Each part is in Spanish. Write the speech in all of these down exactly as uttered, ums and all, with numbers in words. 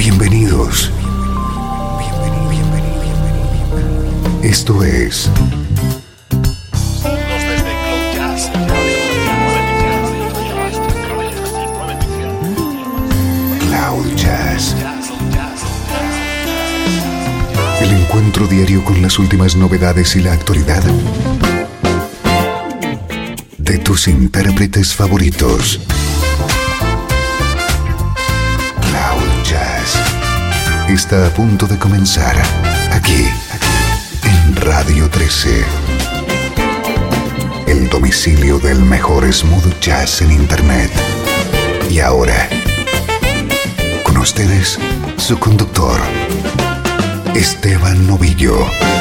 Bienvenidos. Esto es Cloud Jazz. El encuentro diario con las últimas novedades y la actualidad de tus intérpretes favoritos. Cloud Jazz está a punto de comenzar aquí, en Radio trece. El domicilio del mejor smooth jazz en internet. Y ahora, con ustedes, su conductor, Esteban Novillo.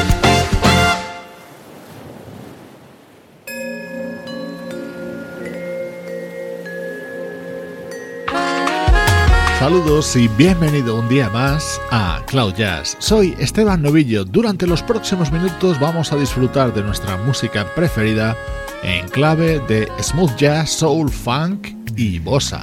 Saludos y bienvenido un día más a Cloud Jazz. Soy Esteban Novillo. Durante los próximos minutos vamos a disfrutar de nuestra música preferida en clave de smooth jazz, soul, funk y bossa.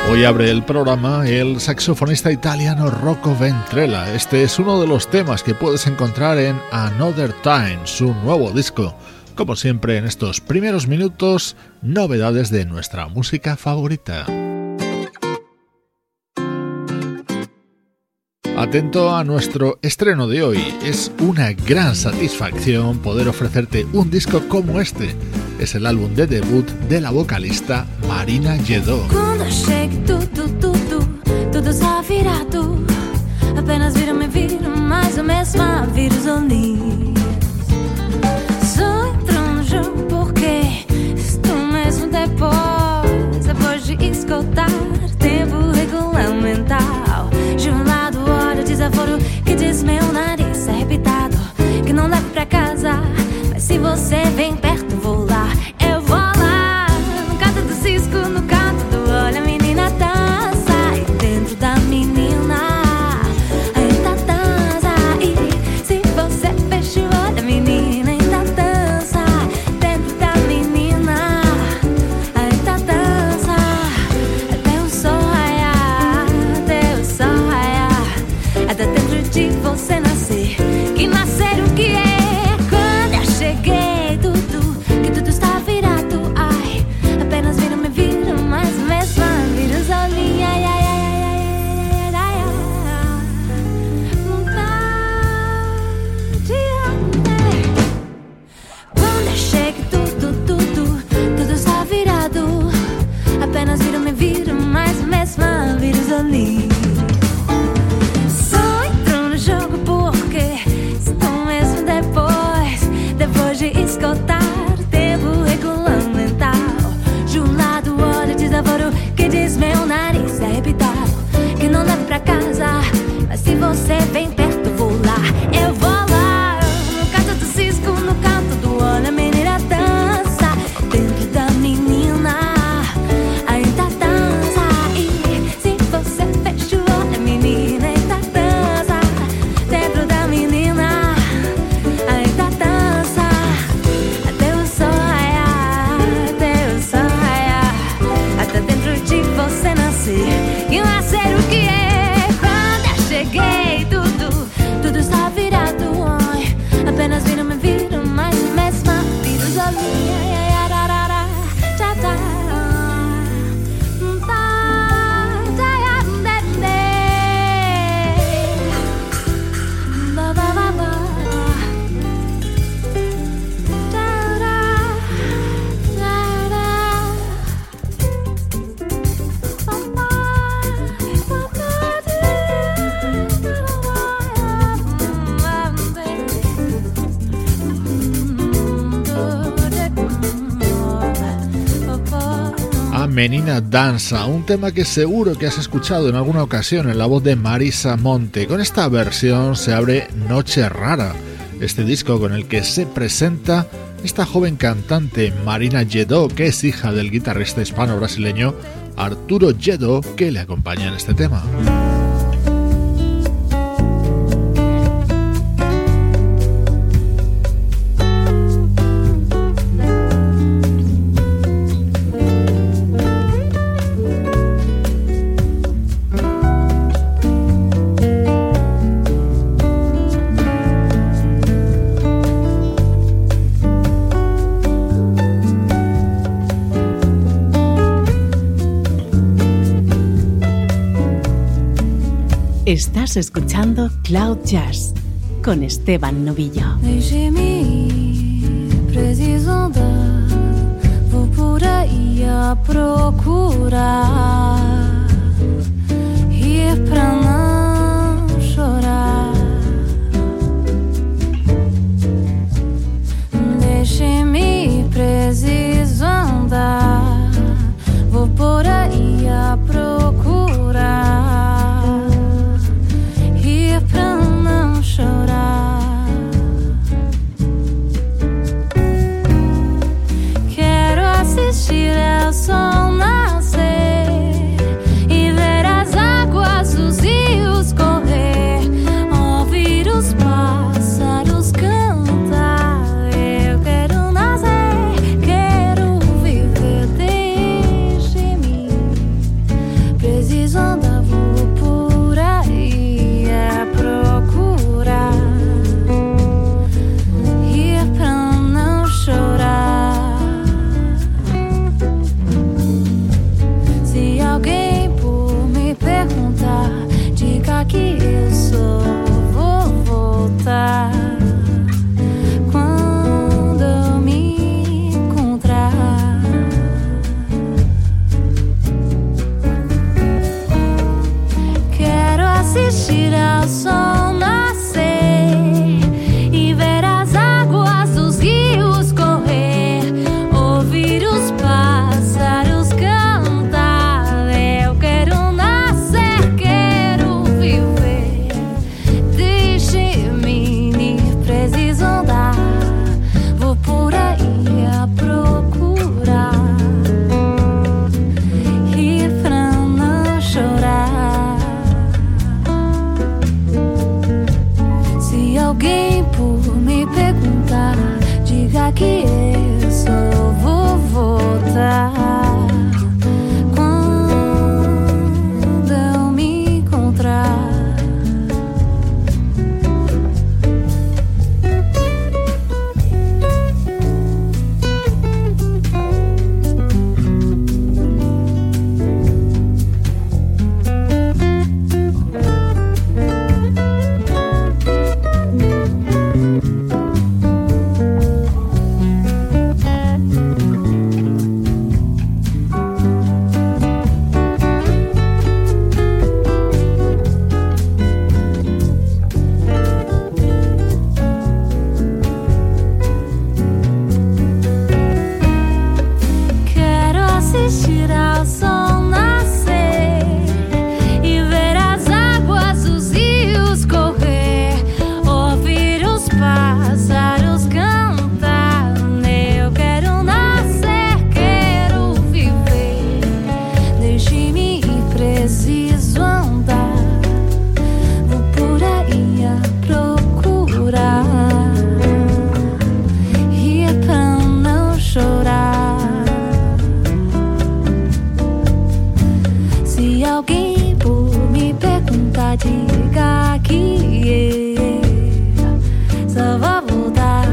Hoy abre el programa el saxofonista italiano Rocco Ventrella. Este es uno de los temas que puedes encontrar en Another Time, su nuevo disco. Como siempre en estos primeros minutos, novedades de nuestra música favorita. Atento a nuestro estreno de hoy. Es una gran satisfacción poder ofrecerte un disco como este. Es el álbum de debut de la vocalista Marina Yedot. Quando chega tudo, tudo, tudo está virado. Apenas vira, me vira, mais a mesma vira os olhinhos. Só entro no jogo porque estou mesmo depois, depois de escutar tempo regulamentar. De um lado olha o desaforo que diz meu nariz arrebitado, que não leva pra casa, mas se você vem perto vou lá, eu vou lá. No canto do cisco, no canto do olho, a menina dança. E dentro da menina ainda dança. E se você fecha o olho, a menina ainda dança. Dentro da menina ainda dança. Até o sol raiar, até o sol raiar, até dentro de você nascer. Que nascer o que é? Quando eu cheguei, tudo, que tudo está virado. Ai, apenas vira, me vira, mais mesma vira os olhinhos. Ai, ai, ai, ai, ai, ai. Quando eu chego, tudo, tudo, tudo está virado. Apenas vira, me vira, mais mesma vira os olhinhos. Só entro no jogo porque estou mesmo depois, depois de escutar tempo regulamentar. De um lado olha o desaforo que diz meu nariz é arrebitado, que não leva pra casa, mas se você vem perto vou lá, eu vou lá. No canto do cisco, no canto do olho, a menina dança. Dentro da menina ainda dança. E se você fecha o olho, a menina ainda dança. Dentro da menina ainda dança. Até o sol raiar, até o sol raiar, até dentro de você nascer. E nascer o que é? Quando eu cheguei, tudo, tudo está virado. Ai, apenas vira, me vira, mais mesma vira os olhinhos. Ai, ai, ararara, tchá, tchá. Tá, tá, dé, dé. Ba, ba, ba, ba. Tará, tará. Ba, ba, ba, ba, A Menina Danza, un tema que seguro que has escuchado en alguna ocasión en la voz de Marisa Monte. Con esta versión se abre Noche Rara, este disco con el que se presenta esta joven cantante Marina Yedot, que es hija del guitarrista hispano-brasileño Arturo Yedot, que le acompaña en este tema. Estás escuchando Cloud Jazz con Esteban Novillo. Deixe-me, preciso andar, vou por aí a procurar, ir pra não chorar. Deixe-me, preciso andar, vou por aí a procurar, pra não chorar. Quero assistir ao sol nascer alguém por me perguntar, diga que eu só vou voltar quando eu me encontrar. Quero assistir ao sol nascer e ver as águas dos rios correr, ouvir os pássaros cantar. Eu quero nascer, quero viver. Deixe-me ir, preciso andar. Vou por aí a procurar rir pra não chorar. Se alguém por me perguntar, diga que eu só vou voltar quando eu me encontrar. Quero assistir ao sol nascer e ver as águas dos rios correr, ouvir os pássaros cantar. Eu quero nascer, quero viver. Deixe-me ir, preciso andar. Vou por aí a procurar rir pra não chorar. Se alguém por me perguntar, diga que eu só vou voltar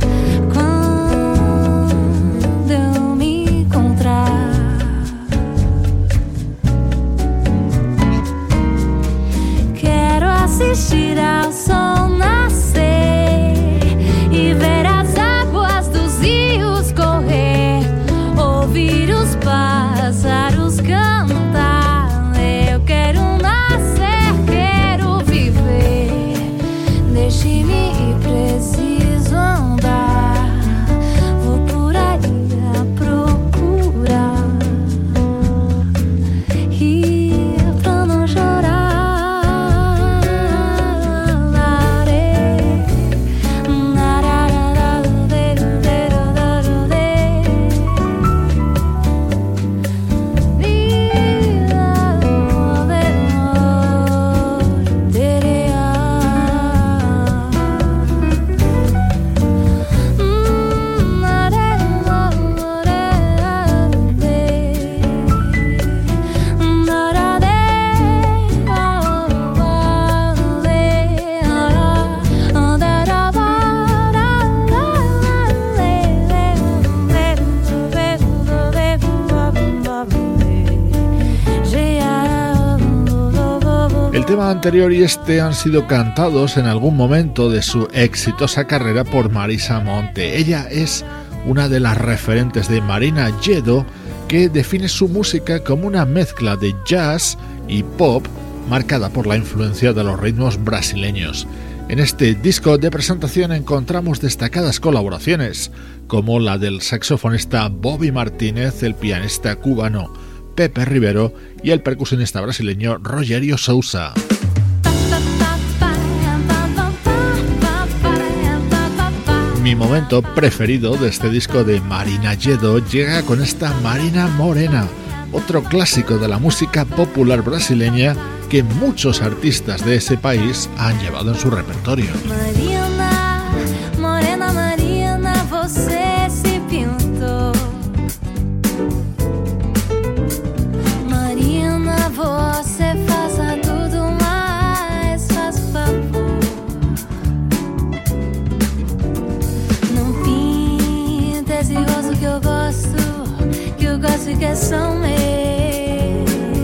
quando eu me encontrar. Quero assistir ao sol nascer e ver as águas dos rios correr, ouvir os pássaros cantar. Eu quero nascer, quero viver. Deixe-me ir, preciso andar. Vou por aí a procurar rir pra não chorar. Larê, El tema anterior y este han sido cantados en algún momento de su exitosa carrera por Marisa Monte. Ella es una de las referentes de Marina Gedo, que define su música como una mezcla de jazz y pop marcada por la influencia de los ritmos brasileños. En este disco de presentación encontramos destacadas colaboraciones, como la del saxofonista Bobby Martínez, el pianista cubano Pepe Rivero y el percusionista brasileño Rogério Sousa. Mi momento preferido de este disco de Marina Gedo llega con esta Marina Morena, otro clásico de la música popular brasileña que muchos artistas de ese país han llevado en su repertorio. Marina, morena Marina, você se pintou. Marina, você faça tudo mais, faz favor. Não pinta esse rosto que eu gosto, que eu gosto e que são meus.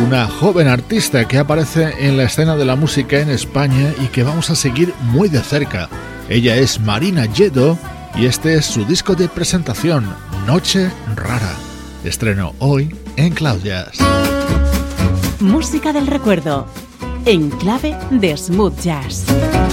una joven artista que aparece en la escena de la música en España y que vamos a seguir muy de cerca. Ella es Marina Lledó y este es su disco de presentación, Noche Rara. Estreno hoy en Cloud Jazz. Música del recuerdo, en clave de smooth jazz.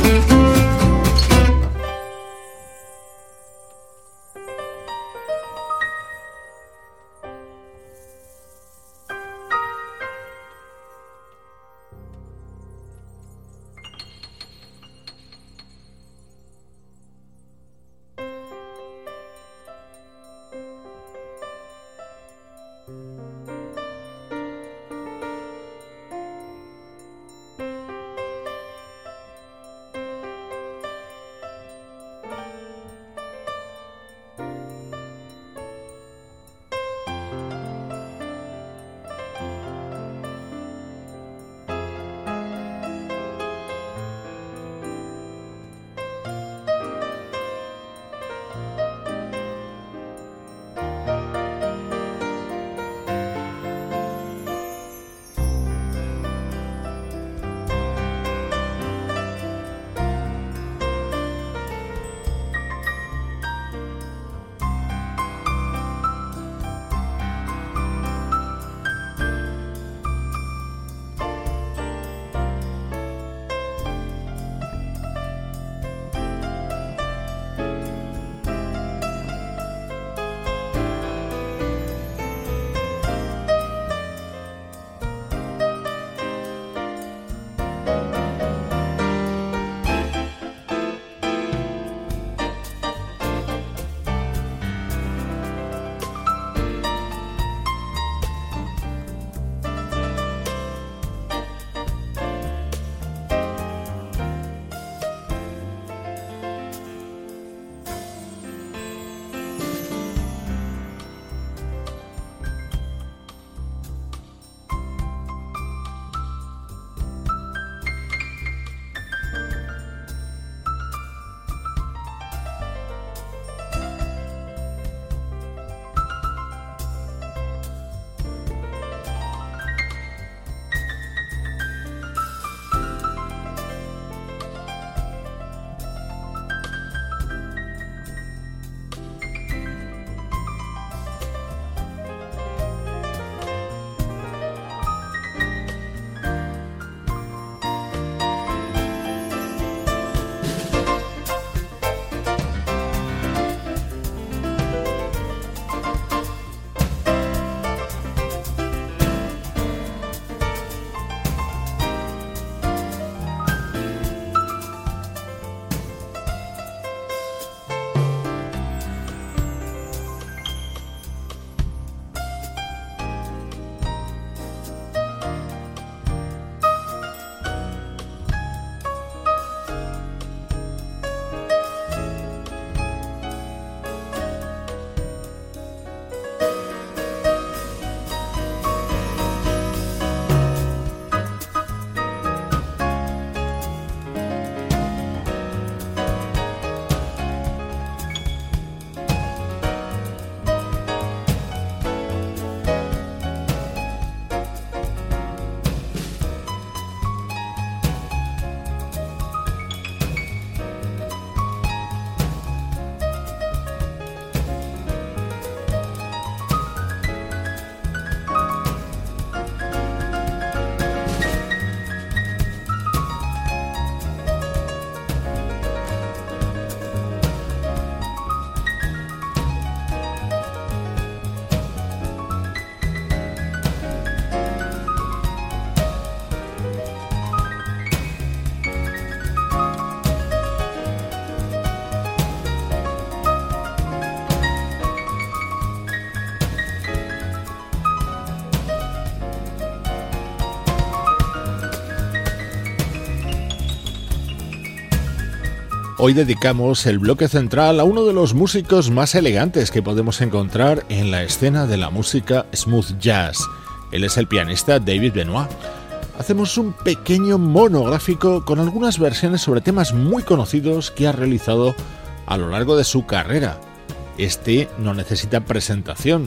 Hoy dedicamos el bloque central a uno de los músicos más elegantes que podemos encontrar en la escena de la música smooth jazz. Él es el pianista David Benoit. Hacemos un pequeño monográfico con algunas versiones sobre temas muy conocidos que ha realizado a lo largo de su carrera. Este no necesita presentación.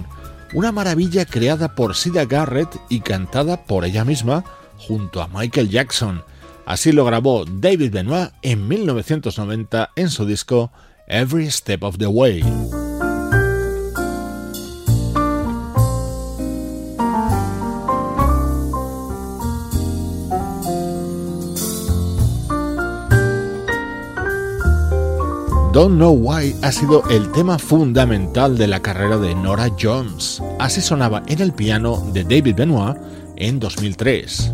una maravilla creada por Sida Garrett y cantada por ella misma junto a Michael Jackson. Así lo grabó David Benoit en mil novecientos noventa en su disco Every Step of the Way. Don't Know Why ha sido el tema fundamental de la carrera de Norah Jones. Así sonaba en el piano de David Benoit en dos mil tres.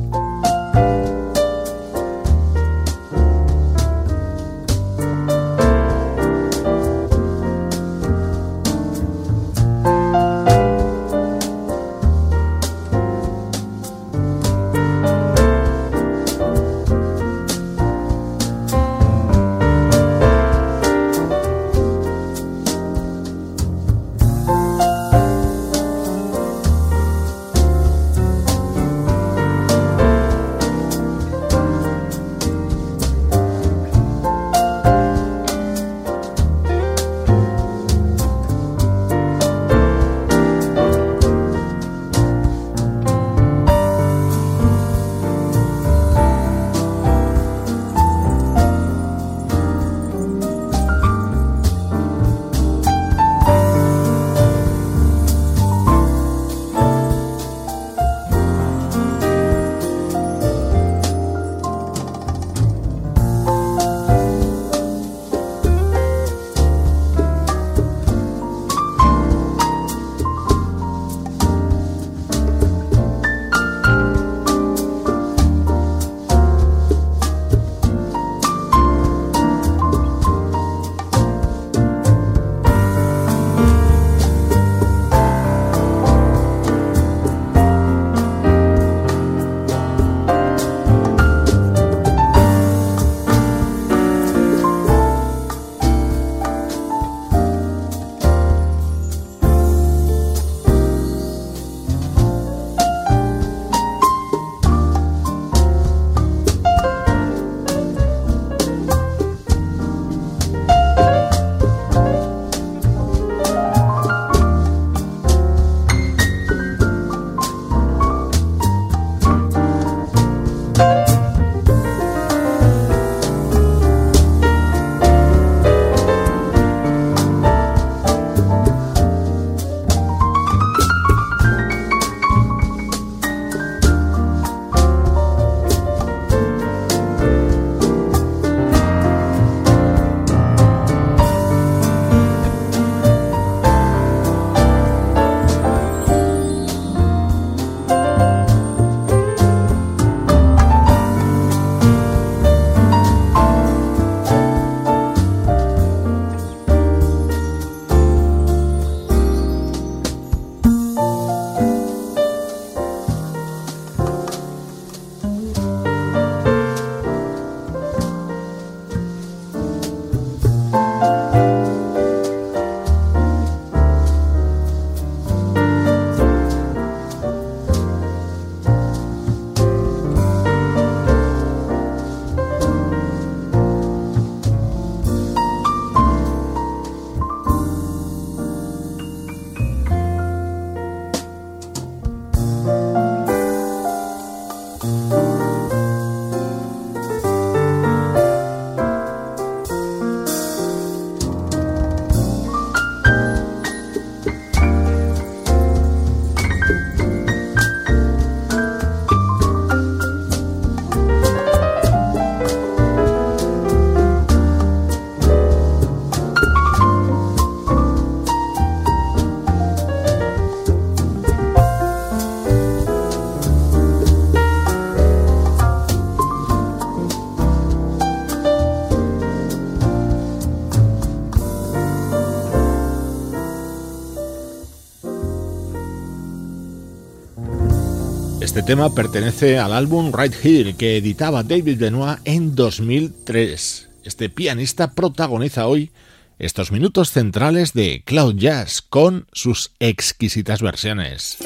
Este tema pertenece al álbum Right Here que editaba David Benoit en dos mil tres. Este pianista protagoniza hoy estos minutos centrales de Cloud Jazz con sus exquisitas versiones.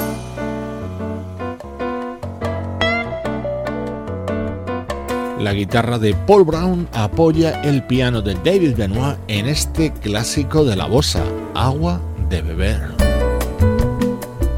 La guitarra de Paul Brown apoya el piano de David Benoit en este clásico de la bossa, Agua de beber.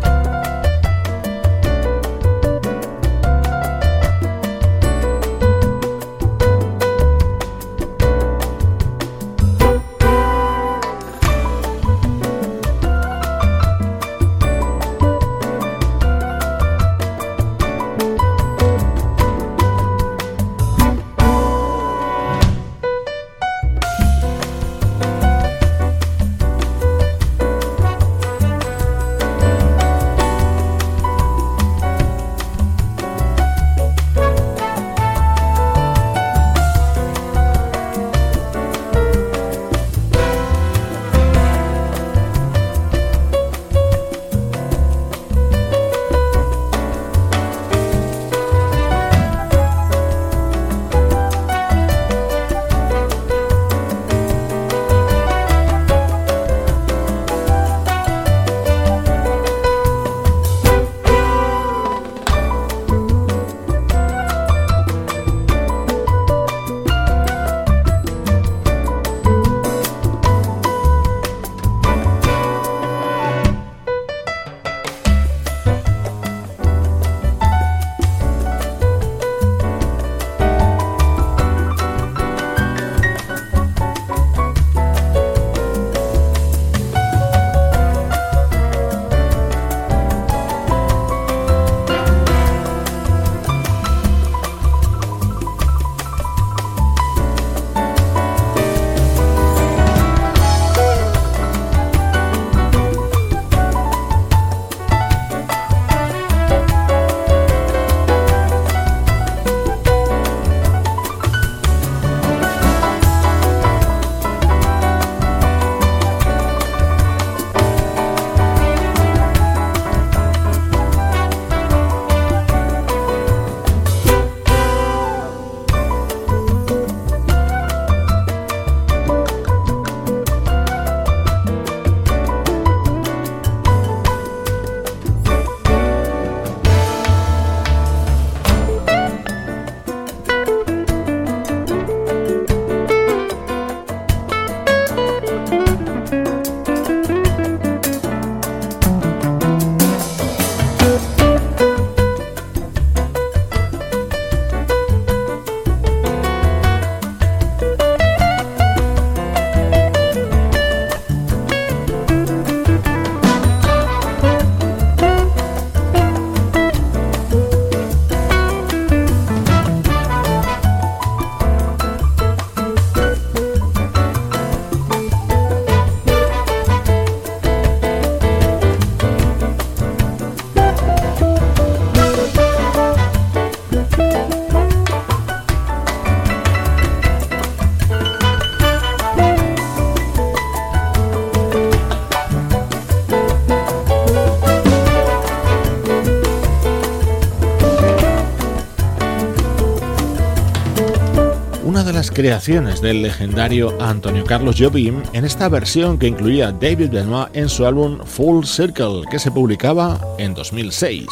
una de las creaciones del legendario Antonio Carlos Jobim en esta versión que incluía David Benoit en su álbum Full Circle, que se publicaba en dos mil seis.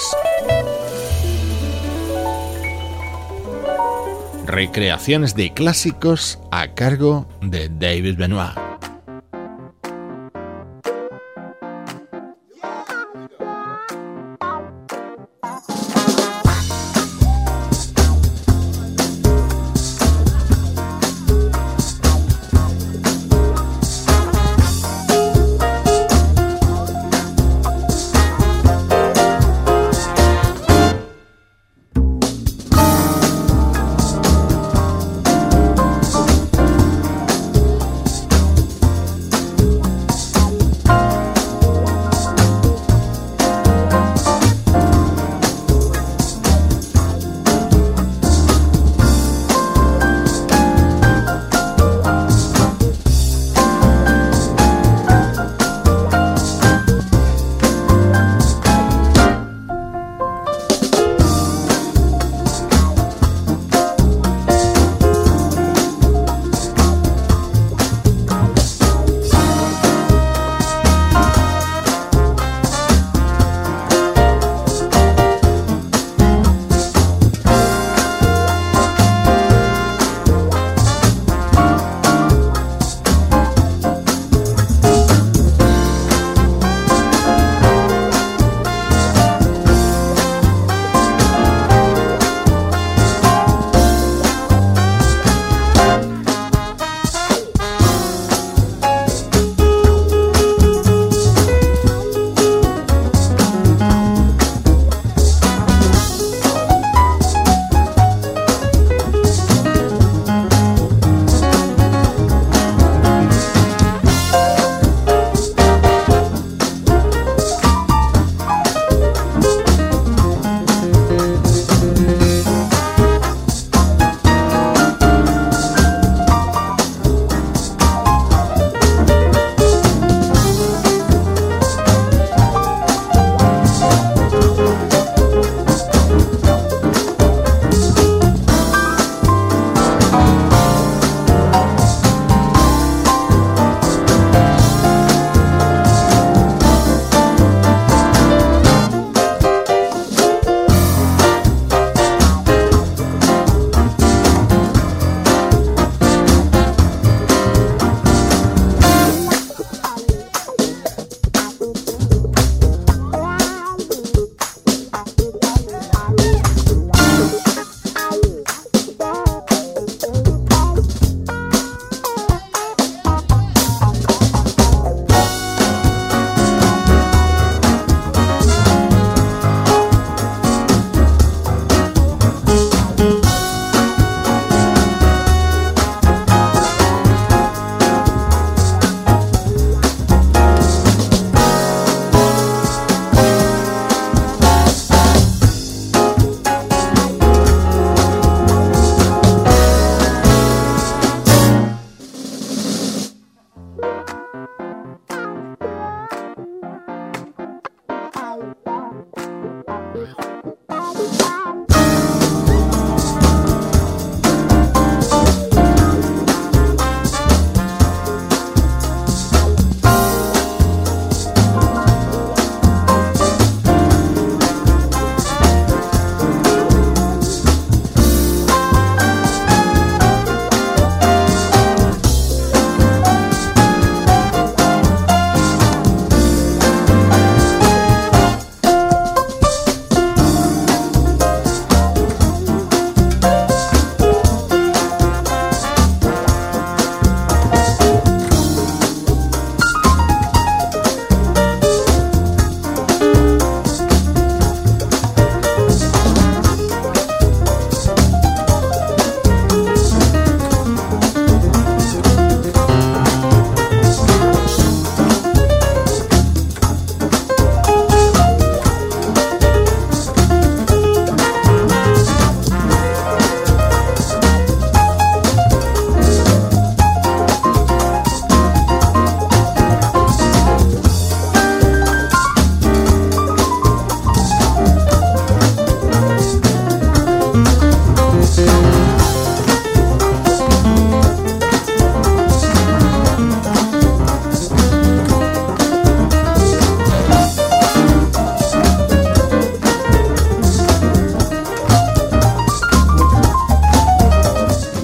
Recreaciones de clásicos a cargo de David Benoit.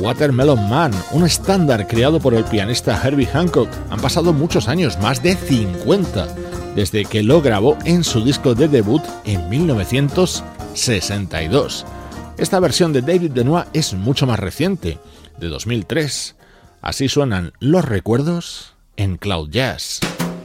Watermelon Man, un estándar creado por el pianista Herbie Hancock. Han pasado muchos años, más de cincuenta, desde que lo grabó en su disco de debut en mil novecientos sesenta y dos. Esta versión de David Benoit es mucho más reciente, de dos mil tres. Así suenan los recuerdos en Cloud Jazz.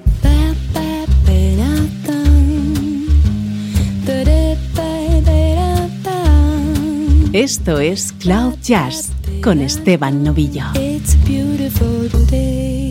Esto es Cloud Jazz con Esteban Novillo. It's a beautiful day.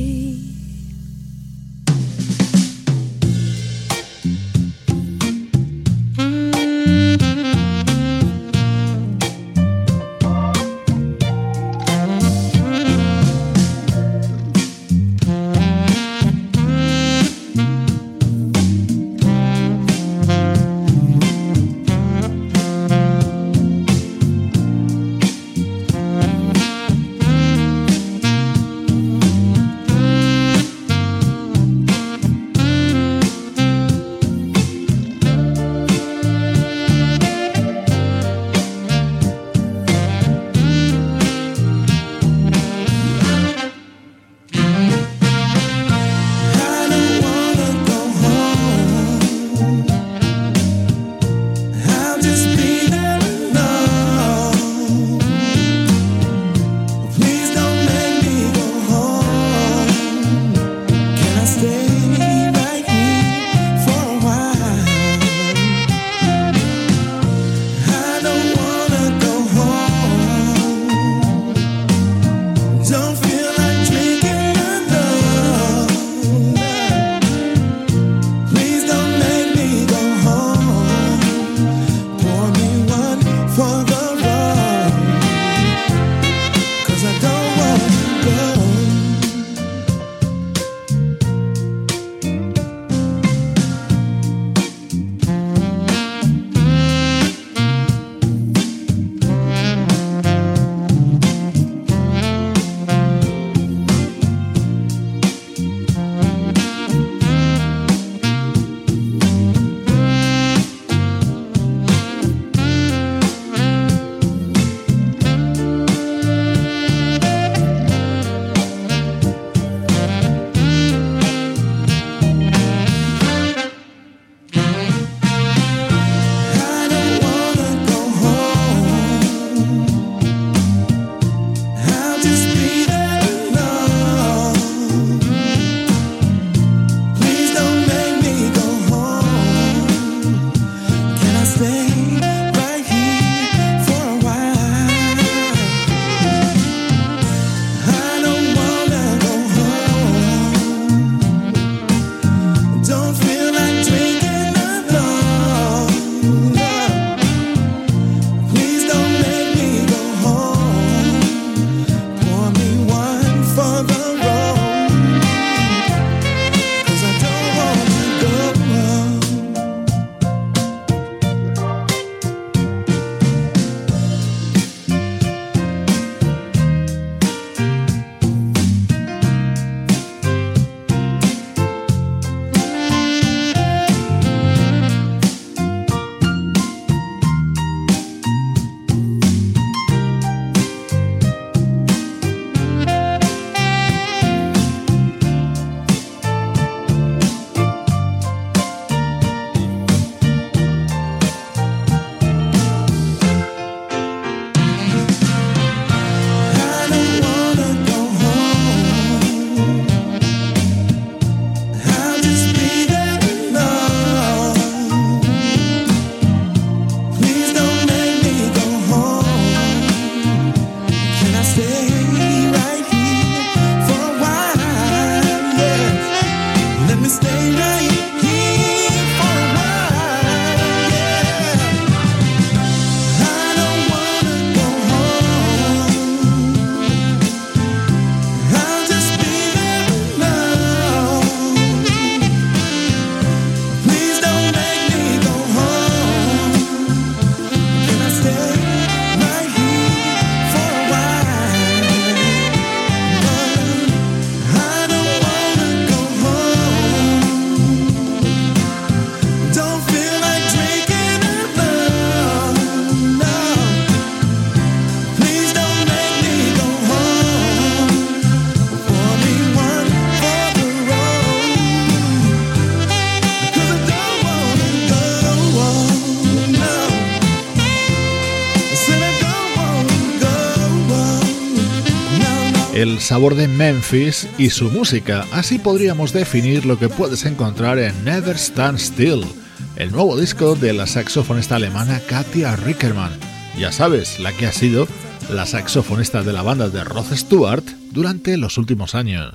el sabor de Memphis y su música. Así podríamos definir lo que puedes encontrar en Never Stand Still, el nuevo disco de la saxofonista alemana Katja Rickermann. Ya sabes, la que ha sido la saxofonista de la banda de Rod Stewart durante los últimos años.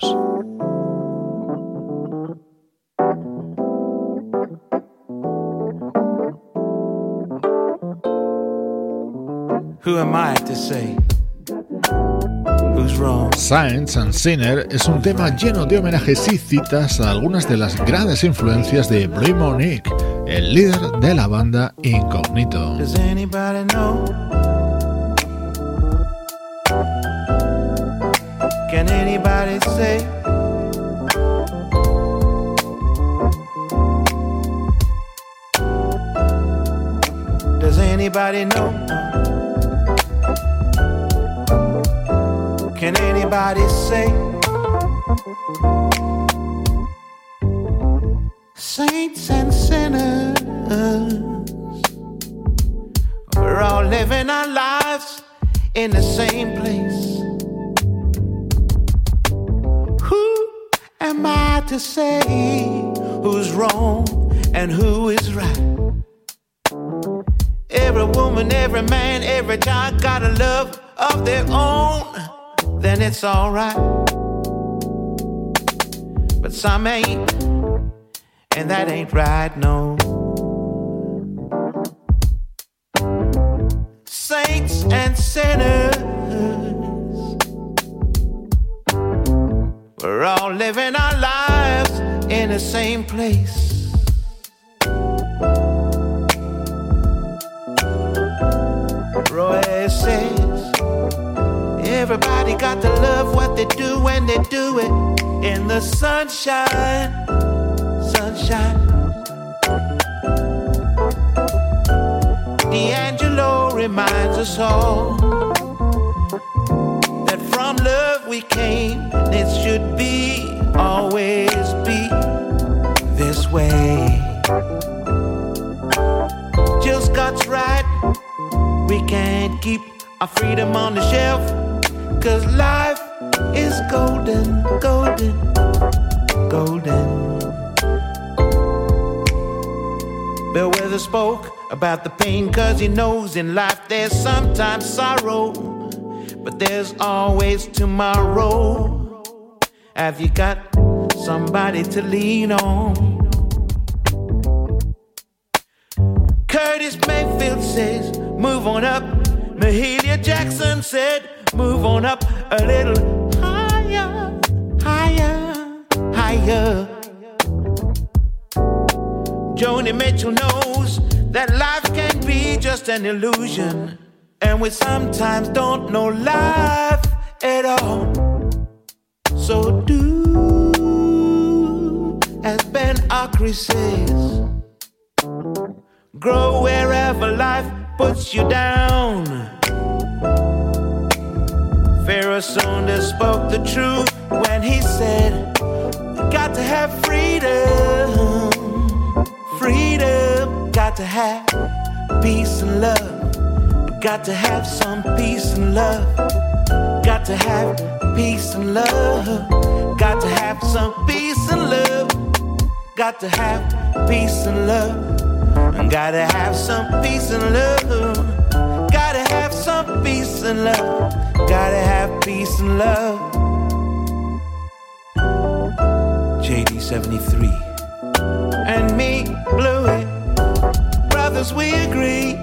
Who am I to say who's wrong? Saints and Sinner es un tema lleno de homenajes y citas a algunas de las grandes influencias de Blue Monique, el líder de la banda Incognito. Does anybody know? Can anybody say? Does anybody know? Can anybody say? Saints and sinners, we're all living our lives in the same place. Who am I to say who's wrong and who is right? Every woman, every man, every child got a love of their own, then it's alright. But some ain't, and that ain't right, no. Saints and sinners, we're all living our lives in the same place. Roy says everybody got to love what they do when they do it in the sunshine, sunshine. D'Angelo reminds us all that from love we came, and it should be, always be this way. Jill Scott's right, we can't keep our freedom on the shelf, 'cause life is golden, golden, golden. Bill Withers spoke about the pain 'cause he knows in life there's sometimes sorrow, but there's always tomorrow. Have you got somebody to lean on? Curtis Mayfield says, move on up. Mahalia Jackson said, move on up a little higher, higher, higher. Joni Mitchell knows that life can be just an illusion, and we sometimes don't know life at all. So do as Ben Akri says, grow wherever life puts you down. Pharaoh Saunders spoke the truth when he said, we got to have freedom, freedom, got to have peace and love, got to have some peace and love, got to have peace and love, got to have some peace and love, got to have peace and love. Gotta have some peace and love. Gotta have some peace and love. Gotta have peace and love. J D seventy-three and me, Bluey, brothers, we agree.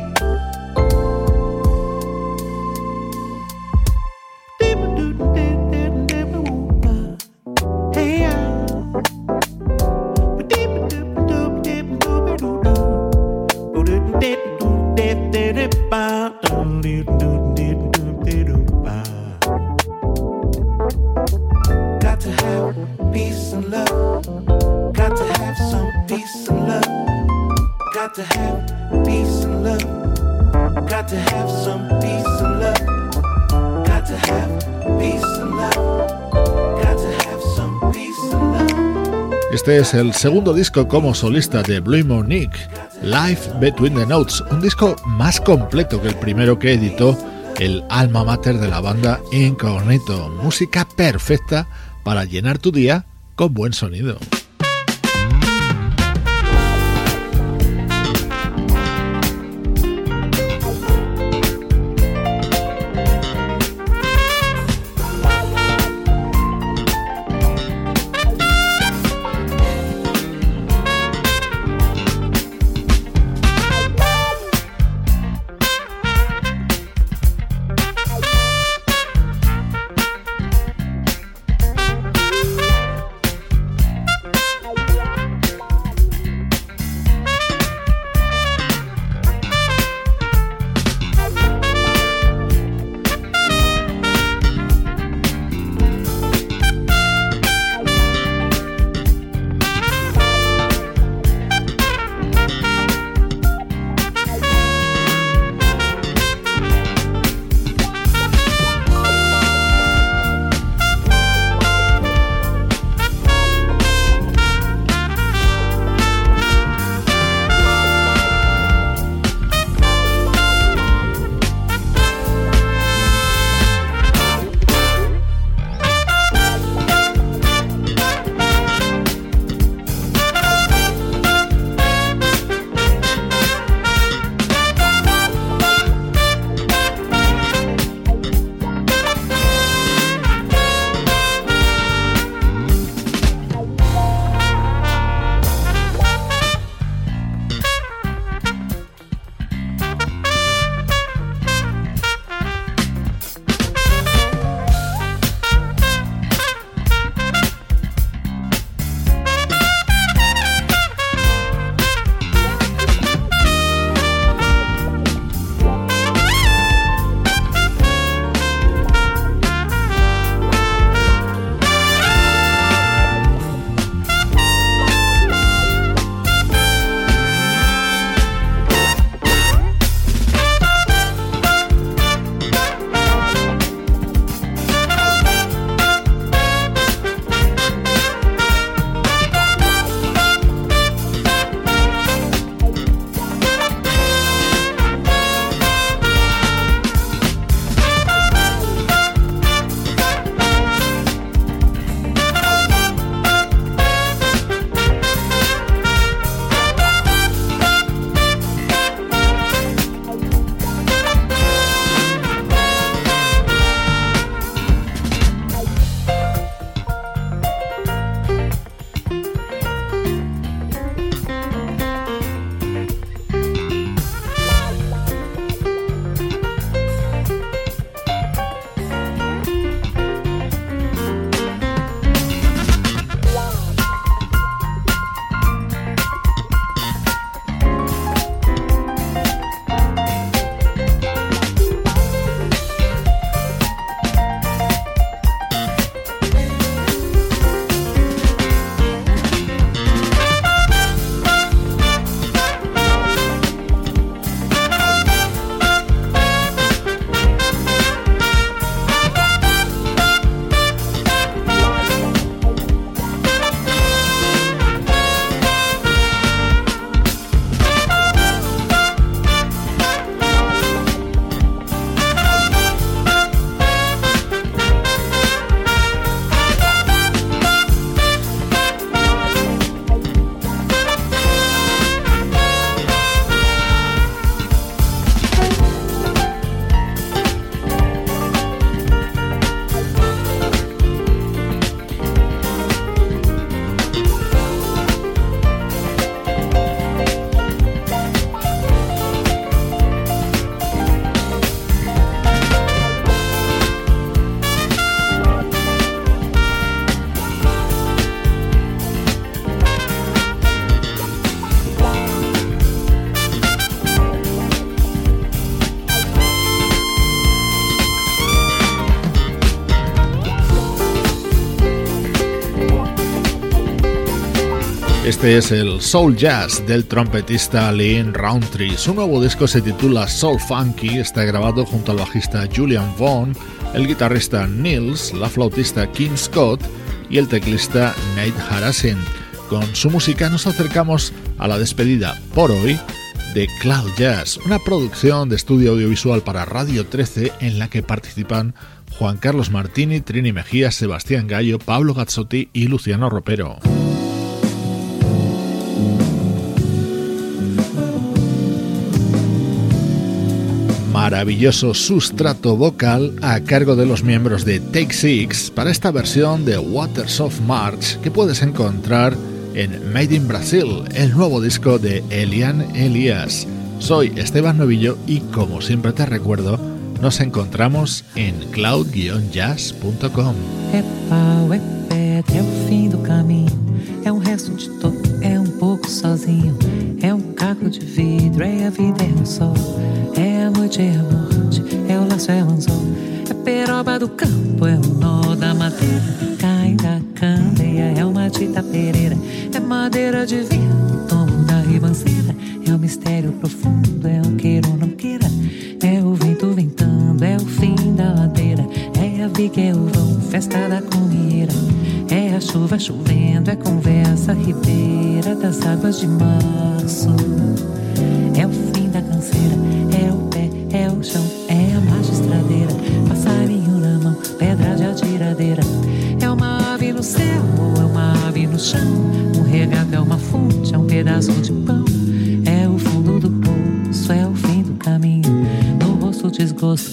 Este es el segundo disco como solista de Blue Monique, Life Between the Notes, un disco más completo que el primero que editó el alma mater de la banda Incognito, música perfecta para llenar tu día con buen sonido. Este es el Soul Jazz del trompetista Lynn Rountree. Su nuevo disco se titula Soul Funky, está grabado junto al bajista Julian Vaughn, el guitarrista Nils, la flautista Kim Scott y el teclista Nate Harasin. Con su música nos acercamos a la despedida por hoy de Cloud Jazz, una producción de estudio audiovisual para Radio trece en la que participan Juan Carlos Martini, Trini Mejía, Sebastián Gallo, Pablo Gazzotti y Luciano Ropero. Maravilloso sustrato vocal a cargo de los miembros de Take Six para esta versión de Waters of March que puedes encontrar en Made in Brazil, el nuevo disco de Elian Elias. Soy Esteban Novillo y como siempre te recuerdo, nos encontramos en cloud jazz punto com. É pau, é pedra, é o fim do caminho. É um resto de topo, é um pouco sozinho. É um caco de vidro, é a vida, é o sol. É a noite, é a morte, é o laço, é o anzol. É peroba do campo, é o nó da madeira. Cai da candeia, é uma tita pereira. É madeira de vinho, tomo da ribanceira. É o mistério profundo, é o queira ou não queira. É o vento ventando, é o fim da ladeira. É a viga, é o vão, festa da comieira. É a chuva chovendo, é conversa ribeira das águas de março. É o fim da canseira, é o pé, é o chão, é a magistradeira. Passarinho na mão, pedra de atiradeira. É uma ave no céu ou é uma ave no chão. Um regato é uma fonte, é um pedaço de pão. É o fundo do poço, é o fim do caminho. No rosto desgosto,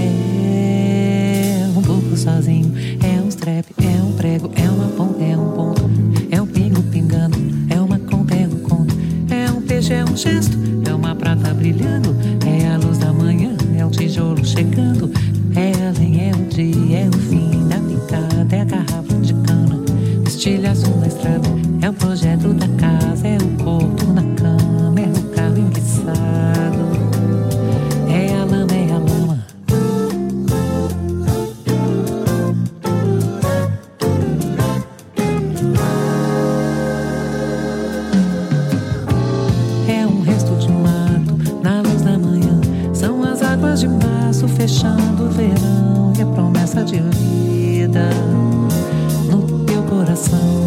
é um pouco sozinho. É um strep, é um prego, é uma ponta, é um ponto. É um pingo pingando, é uma conta, é um conto. É um peixe, é um gesto, é uma prata brilhando. É a luz da manhã, é um tijolo chegando. É além, é o dia, é o fim da picada. É a garrafa de cana, estilha azul na estrada. É o projeto da casa, é o corpo na cama. É o carro enguiçado, é a lama, é a lama. É um resto de mato na luz da manhã. São as águas de março fechando o verão. E a promessa de vida no teu coração.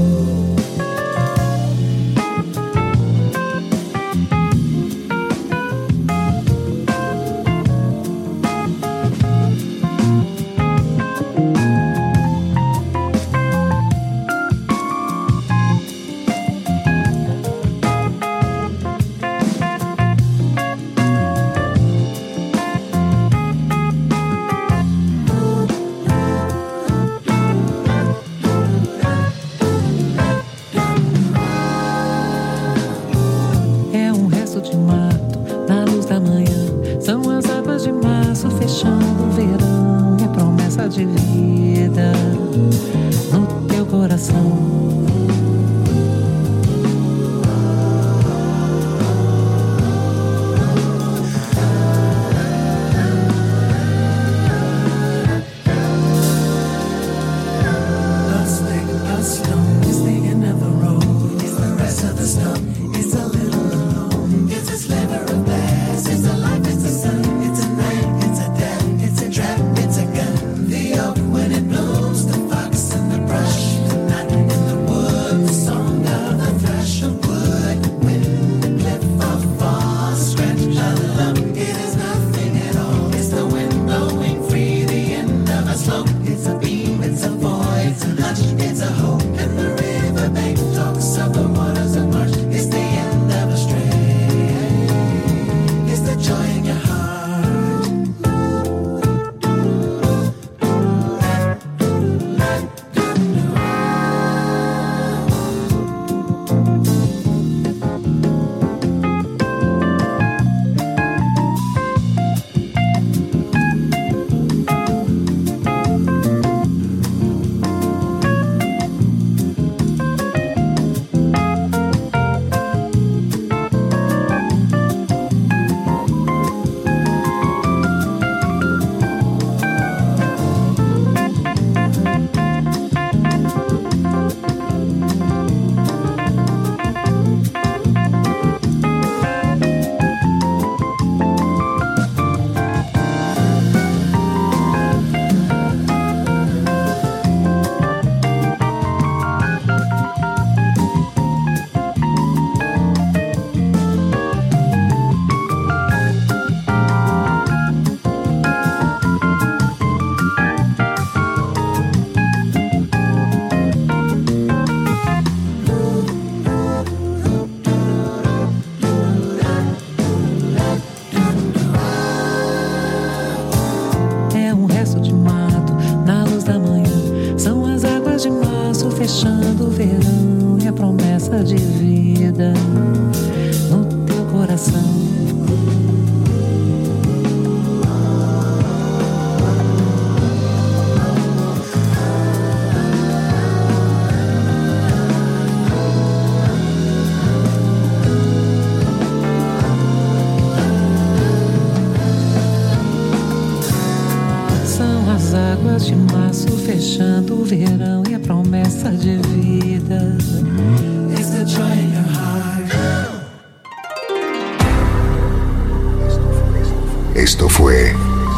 When it blows, the fox in the brush, the night in the woods. fechando o verão e a promessa de vida no teu coração. Águas de março fechando o verão e a promessa de vida. It's the joy in your heart. Esto fue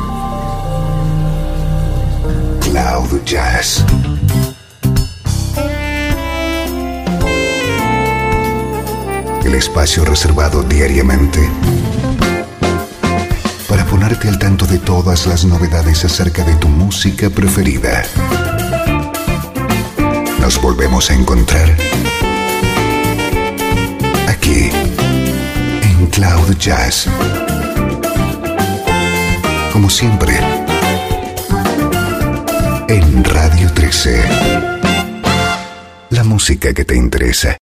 Cloud Jazz. El espacio reservado diariamente para ponerte al tanto de todas las novedades acerca de tu música preferida. Nos volvemos a encontrar aquí en Cloud Jazz. Como siempre, en Radio trece. La música que te interesa.